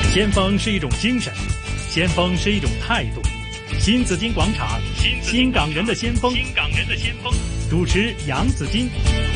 先锋是一种精神，先锋是一种态度。新紫金广场，新港人的先锋，主持杨紫金。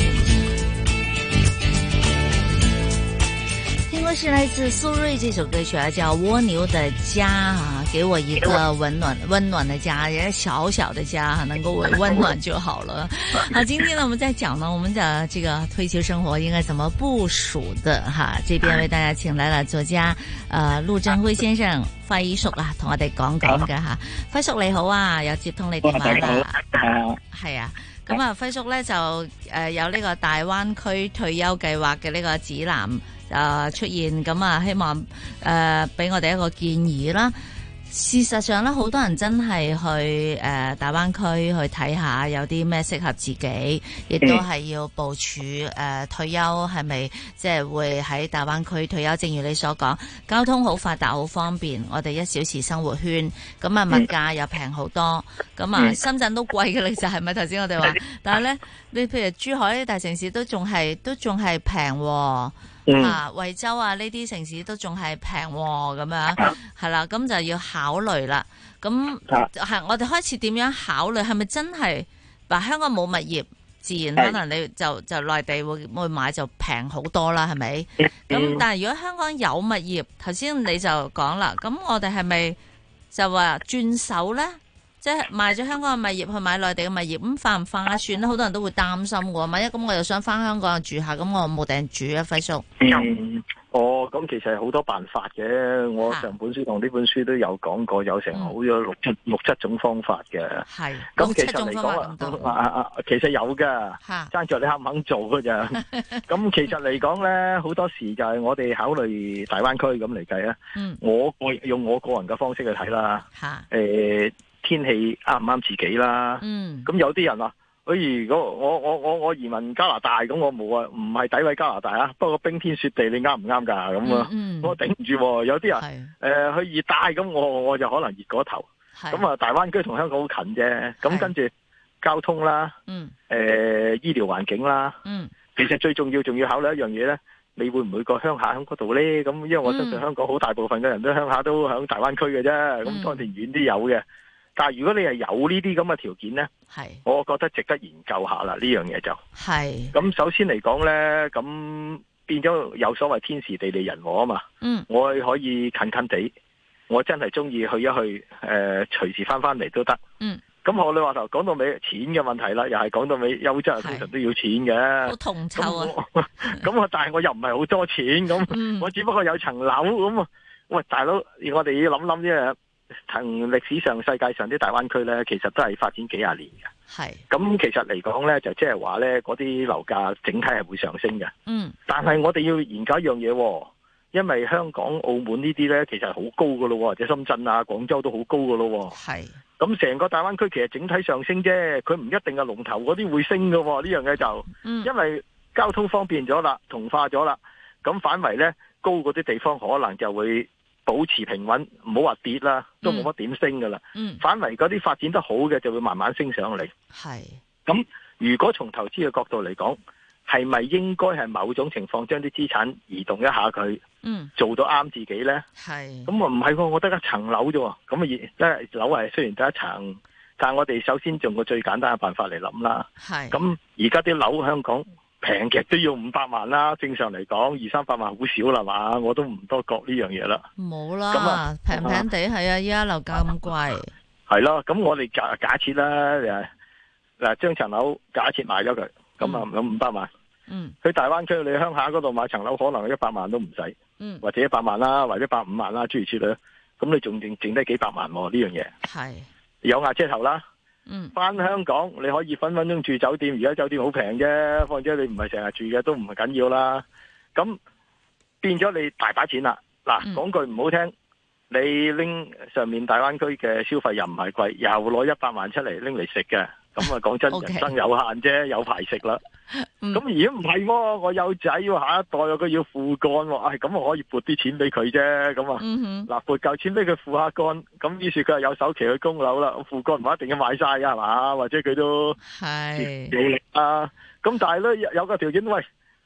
听过是来自苏芮这首歌曲啊，叫《蜗牛的家》啊，给我一个温暖的家，也是小小的家，能够温暖就好了。好，今天呢，我们在讲呢，我们的这个退休生活应该怎么部署的哈。这邊為大家請來了作家陸振輝先生輝叔啊，同我哋講嘅吓。輝叔你好啊，又接通你電話啦。係啊。咁啊，輝叔咧就有呢個大灣區退休計劃嘅呢個指南出現，咁啊希望俾我哋一個建議啦。事實上咧，好多人真係去大灣區去睇下有啲咩適合自己，亦都係要部署退休係咪即係會喺大灣區退休。正如你所講，交通好發達好方便，我哋1小時生活圈，咁啊物價又平好多，咁啊深圳都貴嘅，其實係咪頭先我哋話？但係咧，你譬如珠海呢啲大城市都仲係平喎。惠州啊呢啲城市都仲係平咁樣，係啦，咁就要考慮啦。咁係我哋開始點樣考慮？係咪真係香港冇物業，自然可能你就內地會買就平好多啦，係咪？咁但係如果香港有物業，頭先你就講啦，咁我哋係咪就話轉手咧？即係賣咗香港嘅物業去買內地嘅物業，咁划唔划算咧？好多人都會擔心嘅。萬一咁我又想翻香港住下，咁我冇地住啊，輝叔。 咁其實係好多辦法嘅。我上本書同呢本書都有講過，有成好咗六七種方法嘅。係。咁其實嚟講其實有㗎，爭在你肯唔肯做㗎咋。咁其實嚟講咧，好多時就係我哋考慮大灣區咁嚟計啊。我用我個人嘅方式去睇啦。天氣啱唔啱自己啦？咁有啲人話，如果我移民加拿大，咁我冇啊，唔係詆毀加拿大啊，不過冰天雪地，你啱唔啱㗎？咁啊，我頂唔住。有啲人去熱帶，咁我就可能熱過頭。咁啊，大灣區同香港好近啫。咁跟住交通啦，醫療環境啦，其實最重要仲要考慮一樣嘢咧，你會唔會個鄉下喺嗰度咧？咁因為我相信香港好大部分嘅人都鄉下都喺大灣區嘅啫。咁當然遠啲有嘅。但係如果你係有呢啲咁嘅條件呢，我覺得值得研究下啦。呢樣嘢就咁首先嚟講呢，咁變咗有所謂天時地利人和啊嘛。我可以近近地，我真係中意去一去，隨時翻嚟都得。咁我哋話頭講到尾錢嘅問題啦，又係講到尾優質通常都要錢嘅。好銅臭啊！咁但係我又唔係好多錢，咁我只不過有層樓咁。喂，大佬，我哋要諗諗啫。同歷史上世界上啲大灣區咧，其實都係發展幾廿年嘅。咁其實嚟講咧，就即係話咧，嗰啲樓價整體係會上升嘅。但係我哋要研究一樣嘢，因為香港、澳門呢啲咧，其實係好高噶咯，或者深圳啊、廣州都好高噶咯。咁成個大灣區其實整體上升啫，佢唔一定係龍頭嗰啲會升噶。呢樣嘢就，因為交通方便咗啦，同化咗啦，咁反為咧高嗰啲地方可能就會保持平穩，唔好話跌啦，都冇乜點升噶啦。反為嗰啲發展得好嘅就會慢慢升上嚟。咁如果從投資嘅角度嚟講，係咪應該係某種情況將啲資產移動一下佢，做到啱自己呢？咁啊唔係喎，我得一層樓啫喎。咁啊，即係樓係雖然得一層，但係我哋首先用個最簡單嘅辦法嚟諗啦。咁而家啲樓香港平極都要500萬啦，正常嚟講200-300萬好少啦嘛，我都唔多覺呢樣嘢啦。冇啦，平平地係啊，依家樓價咁貴。係咯，咁我哋假設啦，嗱將層樓假設賣咗佢，咁啊有500萬。去大灣區你鄉下嗰度買層樓可能100萬都唔使，或者100萬啦，或者150萬啦，諸如此類。咁你仲剩低幾百萬喎呢樣嘢。係有瓦遮頭啦。翻香港你可以分分鐘住酒店，而家酒店好平啫，況且你唔係成日住嘅都唔係緊要啦。咁變咗你大把錢啦。嗱，講句唔好聽，你拎上面大灣區嘅消費又唔係貴，又攞100萬出嚟拎嚟食嘅，咁啊講真人生有限啫，有排食啦。咁而家唔係喎，我有仔喎，下一代佢要父幹喎，咁我可以撥啲錢俾佢啫，咁嗱撥夠錢俾佢父下幹，咁於是佢係有首期去供樓啦，父幹唔一定要買晒㗎係嘛，或者佢都努力啊，咁但係咧有個條件，喂，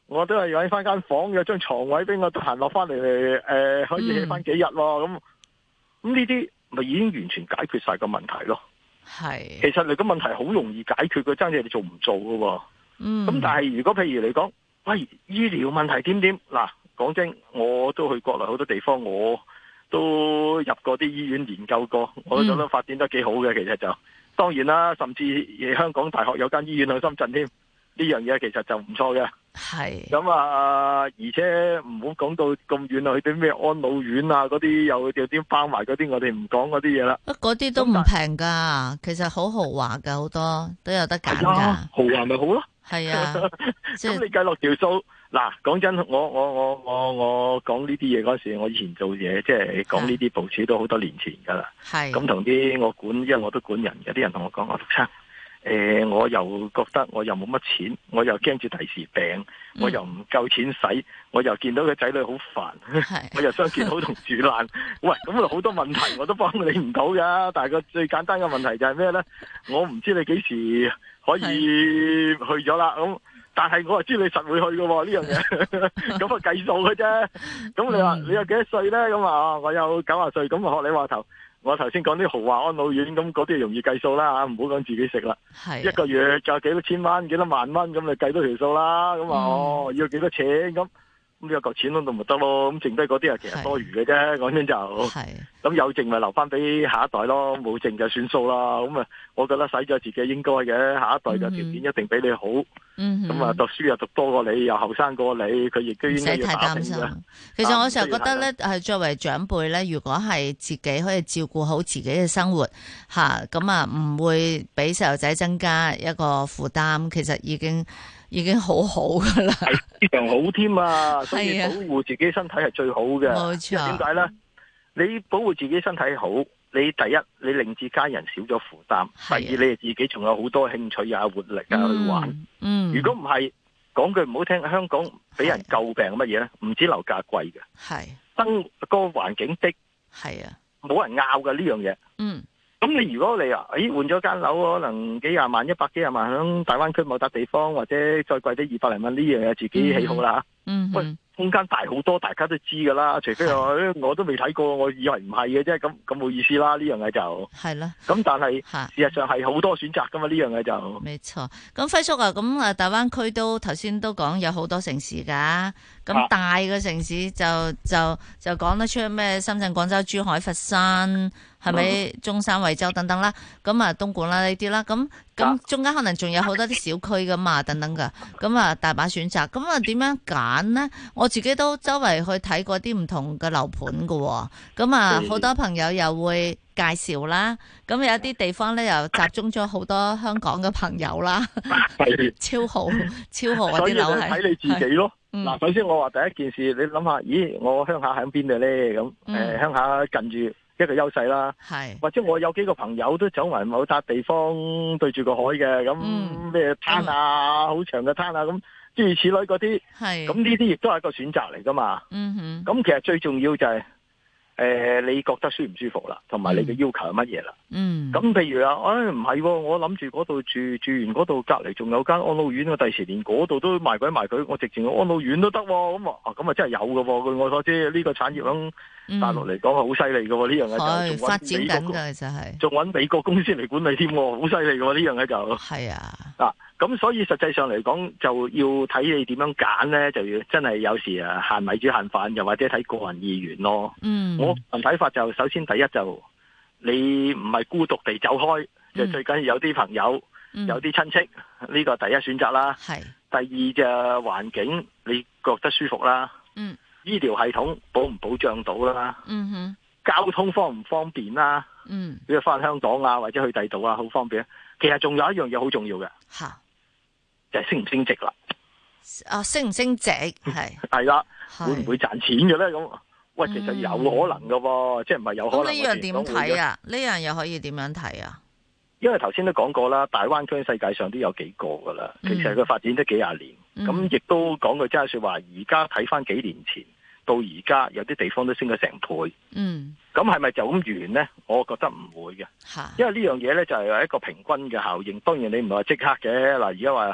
我都係揾翻間房，有張床位俾我得閒落翻嚟，可以起翻幾日咯。咁呢啲咪已經完全解決晒個問題咯。 係， 其實你個問題好容易解決嘅，爭嘢你做唔做噶。咁但係如果譬如你講，喂，醫療問題點點嗱，講真，我都去國內好多地方，我都入過啲醫院研究過，我都覺得發展得幾好嘅。其實就當然啦，甚至香港大學有間醫院喺深圳添，呢樣嘢其實就唔錯嘅。 係咁啊，而且唔好講到咁遠啊，去啲咩安老院啊嗰啲，又啲包埋嗰啲，我哋唔講嗰啲嘢啦。 嗰啲都唔平噶，其實好豪華噶，好多都有得揀噶。 豪華咪好咯。係啊， 咁你計落條數，嗱，講真，我講呢啲嘢嗰時，我以前做嘢，即係講呢啲部署都好多年前噶啦。係咁同啲我管，因為我都管人嘅，啲人同我講，我陸生。我又覺得我又冇乜錢，我又驚住第時病，我又唔夠錢使，我又見到個仔女好煩，我又想見好同住爛。喂，咁啊好多問題我都幫你唔到噶，但係個最簡單嘅問題就係咩呢？我唔知你幾時可以去咗啦，咁但係我係知你實會去噶喎，呢樣嘢，咁啊計數嘅啫。咁你話你有幾多歲呢？咁啊，我有90歲，咁啊學你話頭。我頭先講啲豪華安老院，咁嗰啲容易計數啦嚇，唔好講自己食啦。一個月就幾多千蚊、幾多萬蚊，咁你計多條數啦。咁要幾多錢咁？咁有嚿錢喺度咪得咯？咁剩低嗰啲係其實多餘嘅啫。講真就咁有剩咪留翻俾下一代咯，冇剩就算數啦。咁啊，我覺得使咗自己應該嘅，下一代嘅條件一定比你好。咁啊，讀書又讀多過你，又後生過你，佢亦都應該要打拼嘅。 其實我成日覺得咧，係作為長輩咧，如果係自己可以照顧好自己嘅生活吓，咁啊唔會俾細路仔增加一個負擔，其實已經好好噶啦， 係非常好添啊！所以保護自己身體係最好嘅。 冇錯。 點解咧？你保護自己身體好，你第一你令至家人少咗負擔，第二你自己仲有好多興趣啊、活力啊去玩。如果唔係，講句唔好聽，香港俾人詬病乜嘢咧？唔止樓價貴嘅，生個環境的，係啊，冇人拗嘅呢樣嘢。咁你如果你換咗間樓，可能幾廿萬、100幾廿萬，響大灣區某笪地方，或者再貴啲200零蚊，呢樣嘢自己喜好啦。喂，空間大好多，大家都知噶啦。除非我都未睇過，我以為唔係嘅啫，咁冇意思啦。呢樣嘢就係啦。咁但係事實上係好多選擇噶嘛，呢樣嘢就。 冇錯。咁輝叔啊，咁啊大灣區都頭先都講有好多城市噶，咁大嘅城市就講得出咩？深圳、廣州、珠海、佛山。係咪中山、惠州等等啦？咁啊，東莞啦呢啲啦，咁中間可能仲有好多啲小區噶嘛，等等噶，咁啊大把選擇。咁啊點樣揀呢？我自己都周圍去睇過啲唔同嘅樓盤噶，咁啊好多朋友又會介紹啦。咁有啲地方咧又集中咗好多香港嘅朋友啦，超豪嗰啲樓係。 睇你自己咯。嗱，首先我話第一件事，你諗下，咦，我鄉下喺邊度咧？咁鄉下近住。一個優勢啦，或者我有幾個朋友都走埋某笪地方對住個海嘅，咁咩灘啊，好長嘅灘啊，咁諸如此類嗰啲，咁呢啲亦都係一個選擇嚟噶嘛。咁其實最重要就係你覺得舒唔舒服啦，同埋你嘅要求係乜嘢啦。咁譬如唔係，我諗住嗰度住完嗰度隔籬仲有間安老院，我第時連嗰度都賣鬼賣佢，我直情安老院都得。咁啊真係有噶。據我所知，呢個產業響大陸嚟講係好犀利噶。呢樣嘢就仲發展緊噶，其實係仲搵美國公司嚟管理添，好犀利噶。呢樣嘢就係啊。 咁所以實際上嚟講，就要睇你點樣揀咧，就要真係有時限米煮限飯，又或者睇個人意願咯。我睇法就首先第一就你唔係孤獨地走開，就最緊要有啲朋友，有啲親戚，呢個第一選擇啦。第二就環境你覺得舒服啦。醫療系統保唔保障到啦。交通方唔方便啦。比如翻香港啊，或者去第度啊，好方便。其實仲有一樣嘢好重要嘅。就係升唔升值啦？ 升唔升值係啦，會唔會賺錢嘅咧？咁喂，其實有可能噶喎，即係唔係有可能。 咁呢樣點睇啊？呢樣又可以點樣睇啊？ 因為頭先都講過啦，大灣區世界上都有幾個噶啦，其實佢發展得幾廿年，咁亦都講句真係說話，而家睇翻幾年前到而家，有啲地方都升咗成倍。咁係咪就咁完呢？我覺得唔會嘅，因為呢樣嘢呢，就係一個平均嘅效應。當然你唔係話即刻嘅嗱，而家話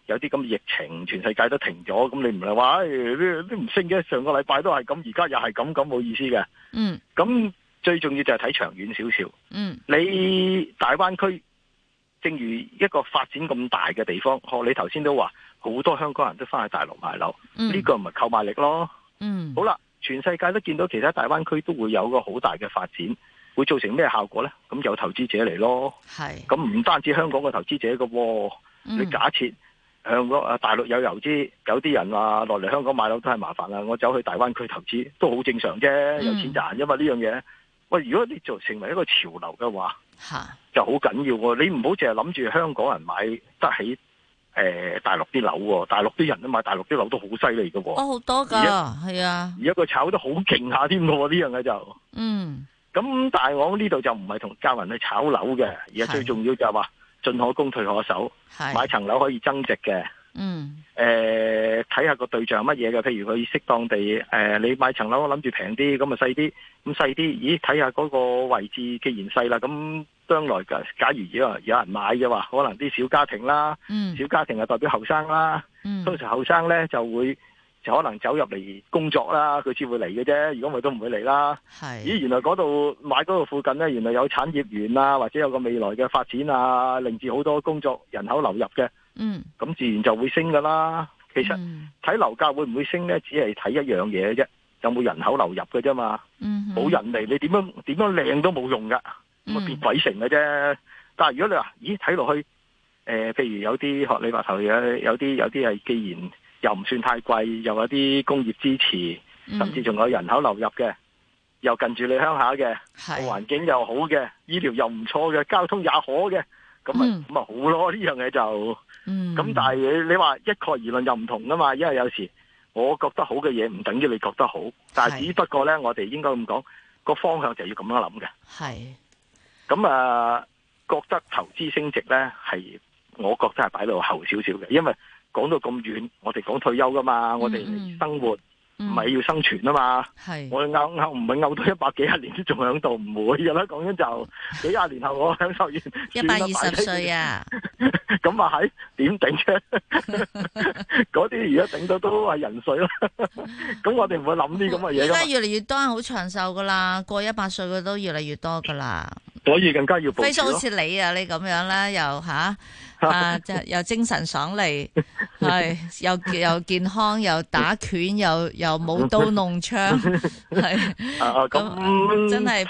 有啲咁嘅疫情，全世界都停咗，咁你唔係話都唔升嘅，上個禮拜都係咁，而家又係咁冇意思嘅。咁最重要就係睇長遠少少。你大灣區正如一個發展咁大嘅地方，你頭先都話好多香港人都翻去大陸買樓，呢個唔係購買力咯。好啦，全世界都見到其他大灣區都會有個好大嘅發展，會造成咩效果呢？咁有投資者嚟咯。咁唔單止香港嘅投資者嘅，你假設香港大陸有遊資，有啲人話落嚟香港買樓都係麻煩啦，我走去大灣區投資都好正常啫，有錢賺。因為呢樣嘢，喂，如果你做成為一個潮流嘅話，就好緊要喎。你唔好淨係諗住香港人買得起大陸啲樓喎，大陸啲人都買大陸啲樓都好犀利嘅喎。好多㗎，係啊。而家佢炒得好勁下添嘅喎，呢樣嘢就。咁但係我呢度就唔係同教人去炒樓嘅，而係最重要就係話，進可攻退可守，買層樓可以增值嘅。睇下個對象乜嘢嘅，譬如佢適當地你買層樓諗住平啲，咁啊細啲，咁細啲，咦睇下嗰個位置既然細啦，咁將來假如有人買嘅話，可能啲小家庭啦，小家庭係代表後生啦，通常後生咧就可能走入嚟工作啦，佢先會嚟嘅啫，如果唔係都唔會嚟啦。咦，原來嗰度買嗰度附近咧，原來有產業園啊，或者有個未來嘅發展啊，令至好多工作人口流入嘅。咁自然就會升噶啦。其實睇樓價會唔會升咧，只係睇一樣嘢啫，有冇人口流入嘅啫嘛。冇人嚟，你點樣靚都冇用噶，咁啊變鬼城嘅啫。但係如果你話，咦睇落去，譬如有啲學你話頭有啲係既然又唔算太貴，又有啲工業支持，甚至仲有人口流入嘅，又近住你鄉下嘅，環境又好嘅，醫療又唔錯嘅，交通也可嘅，咁咪好咯。呢樣嘢就咁，但係你話一概而論又唔同噶嘛，因為有時我覺得好嘅嘢唔等於你覺得好，但係只不過咧，我哋應該咁講，個方向就要咁樣諗嘅。咁覺得投資升值咧，係我覺得係擺到後少少嘅，因為講到咁遠，我哋講退休噶嘛，我哋生活唔係要生存啊嘛。我哋唔係拗到100幾十年都仲喺度，唔會噶啦。講緊就幾廿年後我享受完 120歲啊， 咁啊係點頂啫？嗰啲而家頂到都係人歲啦。咁我哋唔會諗啲咁嘅嘢。而家越嚟越多人好長壽噶啦，過100歲嘅都越嚟越多噶啦。 所以更加要保持咯。 非常好似你啊，你咁樣啦，又又精神爽利，係又健康，又打拳，又舞刀弄槍，係咁真係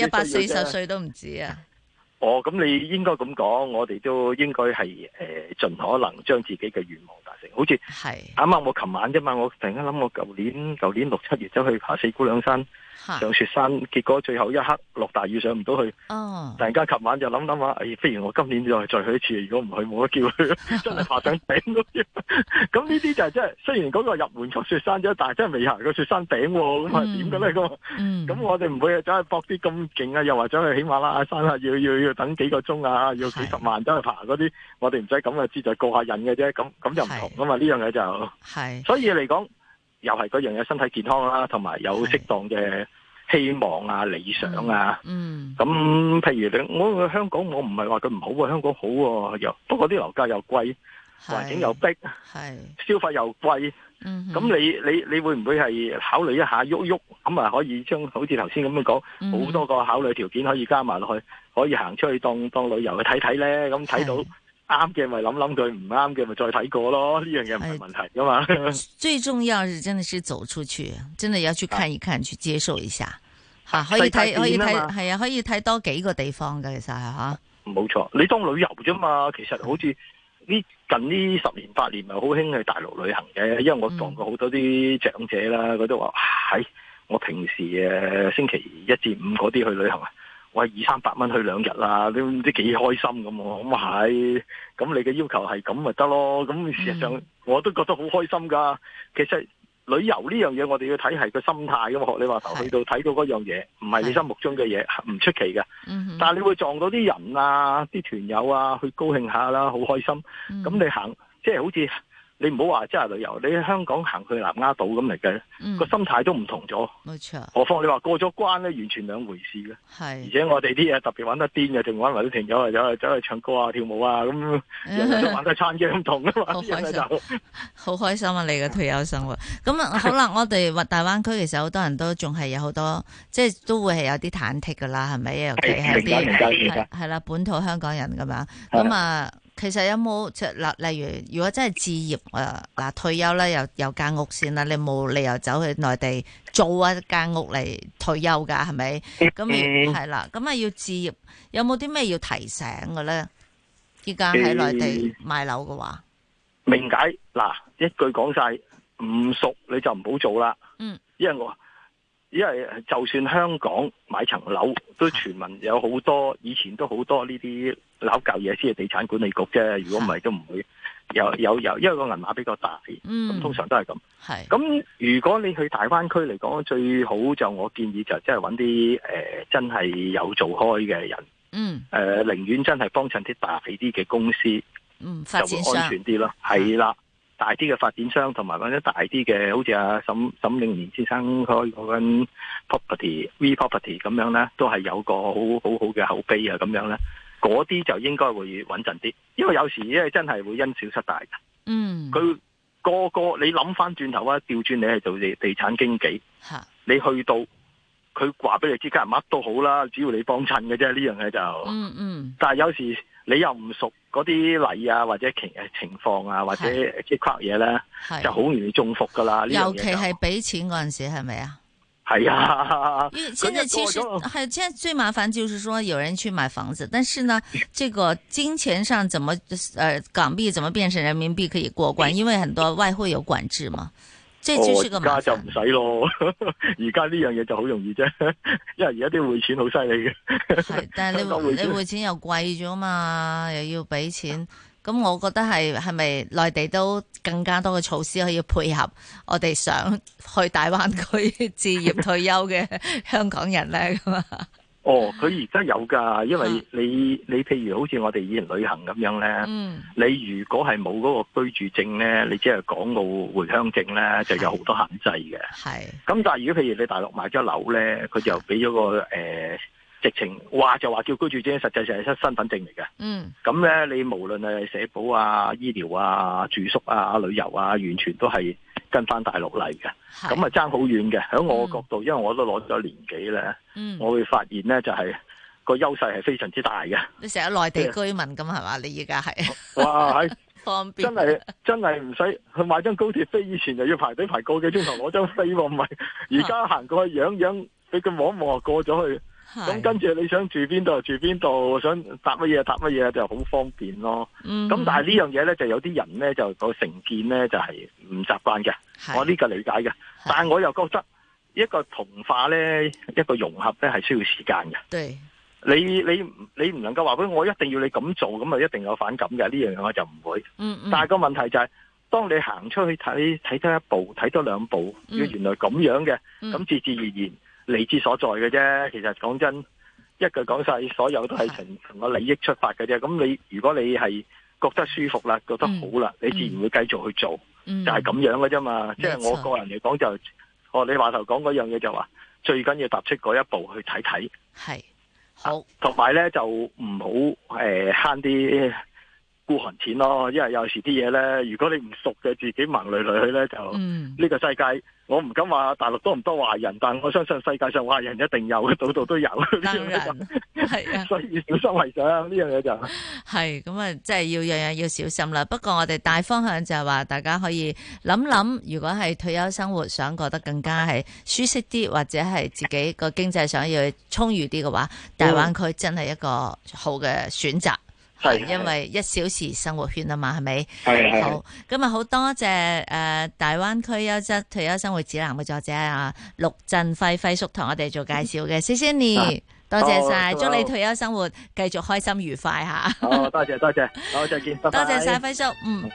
140歲都唔止啊！ 咁你應該咁講，我哋都應該係盡可能將自己嘅願望達成。好似啱啱我琴晚啫嘛，我突然間諗我舊年6、7月走去爬四姑娘山上雪山，結果最後一刻落大雨上唔到去。突然間琴晚就諗下，不如我今年再去一次。如果唔去，冇得叫佢真係爬上頂嗰啲。咁呢啲就係真係，雖然嗰個入門級雪山啫，但係真係未行過雪山頂喎。咁係點嘅咧？咁我哋唔會走去搏啲咁勁啊，又或者去喜馬拉雅山啊，要等幾個鐘啊，要幾十萬走去爬嗰啲，我哋唔使咁嘅，只就過下癮嘅啫。咁就唔同噶嘛，呢樣嘢就所以嚟講，又係嗰樣嘢，身體健康啦，同埋有適當嘅希望啊、理想啊。咁譬如我香港，我唔係話佢唔好啊，香港好喎，不過啲樓價又貴，環境又逼，消費又貴。咁你會唔會係考慮一下喐咁啊？可以將好似頭先咁樣講，好多個考慮條件可以加埋落去，可以行出去當旅遊去睇睇咧。咁睇到啱嘅咪諗佢，唔啱嘅咪再睇過咯。呢樣嘢唔係問題噶嘛。 最重要是真的是走出去，真的要去看一看，去接受一下。可以睇，係啊，可以睇多幾個地方嘅，其實係吓。 冇錯，你當旅遊啫嘛。其實好似近呢10年8年咪好興去大陸旅行嘅，因為我撞過好多啲長者啦，佢都話我平時星期1至5嗰啲去旅行啊，我係200-300蚊去2日啦，都唔知幾開心咁。咁係，咁你嘅要求係咁咪得咯。咁事實上我都覺得好開心噶。其實旅遊呢樣嘢，我哋要睇係個心態噶嘛。學你話頭去到睇到嗰樣嘢，唔係你心目中嘅嘢，唔出奇嘅。但係你會撞到啲人啊，啲團友啊，去高興下啦，好開心。咁你行即係好似你唔好話即係旅遊，你喺香港行去南丫島咁嚟嘅，個心態都唔同咗。 冇錯。 何況你話過咗關咧，完全兩回事嘅。 係。而且我哋啲嘢特別玩得癲嘅，仲玩埋啲朋友走去唱歌啊、跳舞啊，咁人人都玩得餐嘅唔同啊嘛。 好開心，好開心啊！你嘅退休生活。咁啊，好啦，我哋話大灣區其實好多人都仲係有好多，即係都會係有啲忐忑噶啦，係咪？尤其係啲係啦本土香港人咁樣。咁啊。其實有冇即係例如如果真係置業嗱退休咧，有間屋先啦，你冇理由走去內地租一間屋嚟退休噶，係咪？咁係啦，咁啊要置業，有冇啲咩要提醒嘅咧？依家喺內地買樓嘅話， 明解嗱，一句講晒，唔熟你就唔好做啦。因為就算香港買層樓都傳聞有好多，以前都好多呢啲樓舊嘢先係地產管理局啫。如果唔係都唔會有，因為個銀碼比較大，咁通常都係咁。咁如果你去大灣區嚟講，最好就我建議就即係揾啲真係有做開嘅人，寧願真係幫襯啲大啲嘅公司，就會安全啲咯。係啦。大啲嘅發展商同埋或者大啲嘅，好似阿沈永年先生開嗰間 V Property 咁樣咧，都係有個好嘅口碑啊，咁樣咧，嗰啲就應該會穩陣啲。因為有時因為真係會因小失大嘅。佢個你諗翻轉頭啊，調轉你係做地產經紀，你去到佢話俾你知，乜都好啦，只要你幫襯嘅啫，呢樣嘢就。但係有時你又唔熟嗰啲例啊，或者情況啊，或者即係嘢咧，就好容易中伏噶啦。 尤其係俾錢嗰陣時，係咪啊？ 係啊。 現在其實現在最麻煩就是說，有人去買房子，但是呢，這個金錢上怎麼港幣怎麼變成人民幣可以過關？因為很多外匯有管制嘛。即係就是個麻煩。而家就唔使咯，而家呢樣嘢就好容易啫，因為而家啲匯錢好犀利嘅。係，但係你匯錢又貴咗嘛，又要俾錢，咁我覺得係咪內地都更加多嘅措施可以配合我哋想去大灣區置業退休嘅香港人咧咁啊？佢而家有㗎，因為你譬如好似我哋以前旅行咁樣咧，你如果係冇嗰個居住證咧，你只係港澳回鄉證咧，就有好多限制嘅。係。咁但係如果譬如你大陸買咗樓咧，佢就俾咗個直情話就話叫居住證，實際上係身份證嚟嘅。咁咧，你無論係社保啊、醫療啊、住宿啊、旅遊啊，完全都係跟翻大陸嚟嘅。咁啊爭好遠嘅。喺我角度，因為我都攞咗年幾咧，我會發現咧就係個優勢係非常之大嘅。你成日內地居民咁係嘛？你而家係哇，係方便，真係唔使去買張高鐵飛，以前就要排隊排個幾鐘頭攞張飛喎，唔係而家行過去樣俾佢望一望就過咗去。咁跟住你想住邊度住邊度，想搭乜嘢就好方便咯。咁但係呢樣嘢咧，就有啲人咧就個成見咧就係唔習慣嘅。我呢個理解嘅，但係我又覺得一個同化咧，一個融合咧係需要時間嘅。對，你唔能夠話俾我一定要你咁做，咁啊一定有反感嘅。呢樣嘢我就唔會。但係個問題就係，當你行出去睇多一步，睇多兩步，原來咁樣嘅，咁自自然然。利之所在嘅啫，其實講真，一句講晒，所有都係從個利益出發嘅啫。咁你如果你係覺得舒服啦，覺得好啦，你自然會繼續去做，就係咁樣嘅啫嘛。即係我個人嚟講就，你話頭講嗰樣嘢就話，最緊要踏出嗰一步去睇睇。係好，同埋咧就唔好慳啲孤寒錢咯，因為有時啲嘢咧，如果你唔熟嘅，自己盲累累去咧，就呢個世界。我唔敢話大陸多唔多壞人，但我相信世界上壞人一定有，度度都有。當然係啊，所以小心為上呢樣嘢就係咁啊，即係要樣樣要小心啦。不過我哋大方向就係話，大家可以諗諗，如果係退休生活想過得更加係舒適啲，或者係自己個經濟想要充裕啲嘅話，大灣區真係一個好嘅選擇。係，因為1小時生活圈啊嘛，係咪？係。好，今日好多謝大灣區優質退休生活指南嘅作者陸振輝輝叔同我哋做介紹嘅，謝謝你，多謝晒，祝你退休生活繼續開心愉快吓。好，多謝，好，再見，拜拜。多謝晒輝叔，